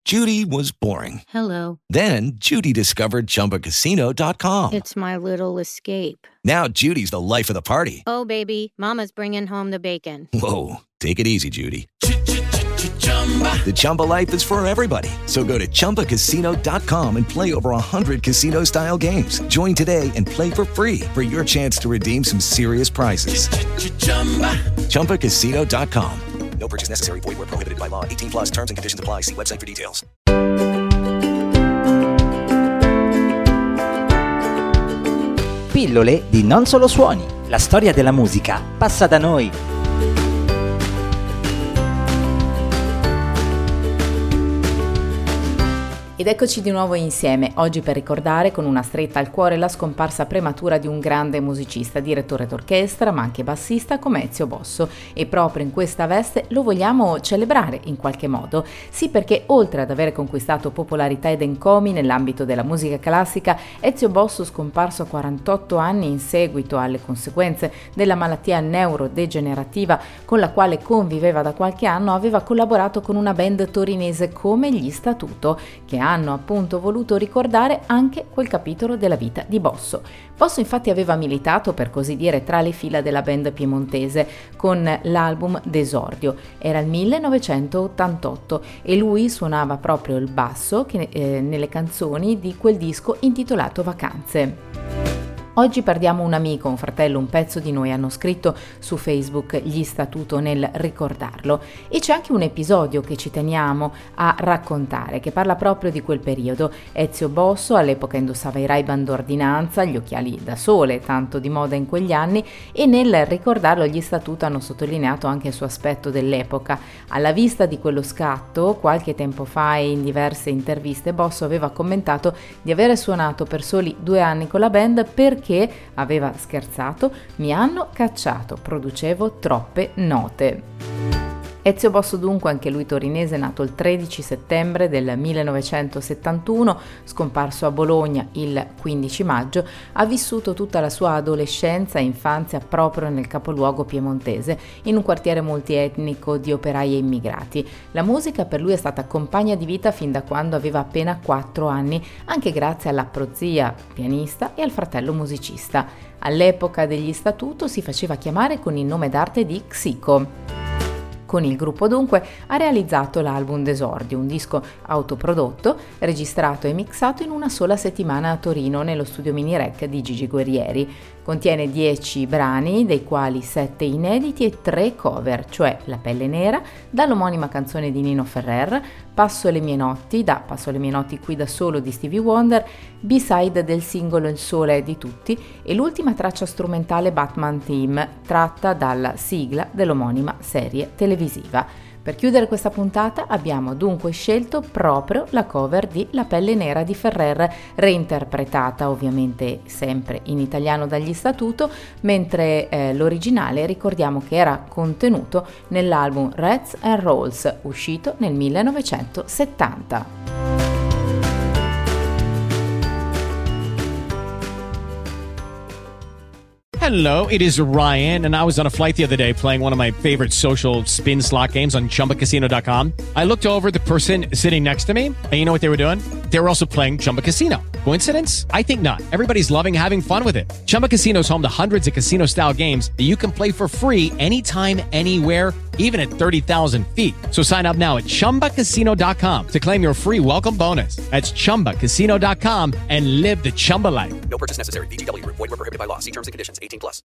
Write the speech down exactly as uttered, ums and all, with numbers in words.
Judy was boring. Hello. Then Judy discovered Chumba Casino dot com. It's my little escape. Now Judy's the life of the party. Oh, baby, mama's bringing home the bacon. Whoa, take it easy, Judy. The Chumba life is for everybody. So go to Chumba Casino dot com and play over one hundred casino-style games. Join today and play for free for your chance to redeem some serious prizes. Chumba Casino dot com. No purchase necessary. Void where prohibited by law. eighteen plus terms and conditions apply. See website for details. Pillole di Non Solo Suoni. La storia della musica passa da noi. Ed eccoci di nuovo insieme, oggi per ricordare con una stretta al cuore la scomparsa prematura di un grande musicista, direttore d'orchestra ma anche bassista come Ezio Bosso, e proprio in questa veste lo vogliamo celebrare in qualche modo. Sì, perché oltre ad aver conquistato popolarità ed encomi nell'ambito della musica classica, Ezio Bosso, scomparso a quarantotto anni in seguito alle conseguenze della malattia neurodegenerativa con la quale conviveva da qualche anno, aveva collaborato con una band torinese come gli Statuto, che hanno appunto voluto ricordare anche quel capitolo della vita di Bosso. Bosso infatti aveva militato, per così dire, tra le fila della band piemontese con l'album D'Esordio. Era il millenovecentottantotto e lui suonava proprio il basso che, eh, nelle canzoni di quel disco intitolato Vacanze. Oggi perdiamo un amico, un fratello, un pezzo di noi, hanno scritto su Facebook gli Statuto nel ricordarlo, e c'è anche un episodio che ci teniamo a raccontare che parla proprio di quel periodo. Ezio Bosso all'epoca indossava i Ray-Ban d'ordinanza, gli occhiali da sole, tanto di moda in quegli anni, e nel ricordarlo gli Statuto hanno sottolineato anche il suo aspetto dell'epoca. Alla vista di quello scatto, qualche tempo fa e in diverse interviste, Bosso aveva commentato di avere suonato per soli due anni con la band perché che aveva scherzato, mi hanno cacciato, producevo troppe note. Ezio Bosso dunque, anche lui torinese, nato il tredici settembre del millenovecentosettantuno, scomparso a Bologna il quindici maggio, ha vissuto tutta la sua adolescenza e infanzia proprio nel capoluogo piemontese, in un quartiere multietnico di operai e immigrati. La musica per lui è stata compagna di vita fin da quando aveva appena quattro anni, anche grazie alla prozia pianista e al fratello musicista. All'epoca degli Statuto si faceva chiamare con il nome d'arte di Xico. Con il gruppo dunque ha realizzato l'album D'Esordio, un disco autoprodotto, registrato e mixato in una sola settimana a Torino nello studio Mini Rec di Gigi Guerrieri. Contiene dieci brani, dei quali sette inediti e tre cover, cioè La pelle nera, dall'omonima canzone di Nino Ferrer, Passo le mie notti, da Passo le mie notti qui da solo di Stevie Wonder, B-side del singolo Il sole è di tutti e l'ultima traccia strumentale Batman Theme, tratta dalla sigla dell'omonima serie televisiva. Per chiudere questa puntata abbiamo dunque scelto proprio la cover di La pelle nera di Ferrer, reinterpretata ovviamente sempre in italiano dagli Statuto, mentre eh, l'originale ricordiamo che era contenuto nell'album Rats and Rolls, uscito nel millenovecentosettanta. Hello, it is Ryan, and I was on a flight the other day playing one of my favorite social spin slot games on Chumba Casino dot com. I looked over at the person sitting next to me, and you know what they were doing? They were also playing Chumba Casino. Coincidence? I think not. Everybody's loving having fun with it. Chumba Casino is home to hundreds of casino-style games that you can play for free anytime, anywhere, even at thirty thousand feet. So sign up now at Chumba Casino dot com to claim your free welcome bonus. That's Chumba Casino dot com and live the Chumba life. No purchase necessary. V G W. Void where prohibited by law. See terms and conditions. eighteen plus.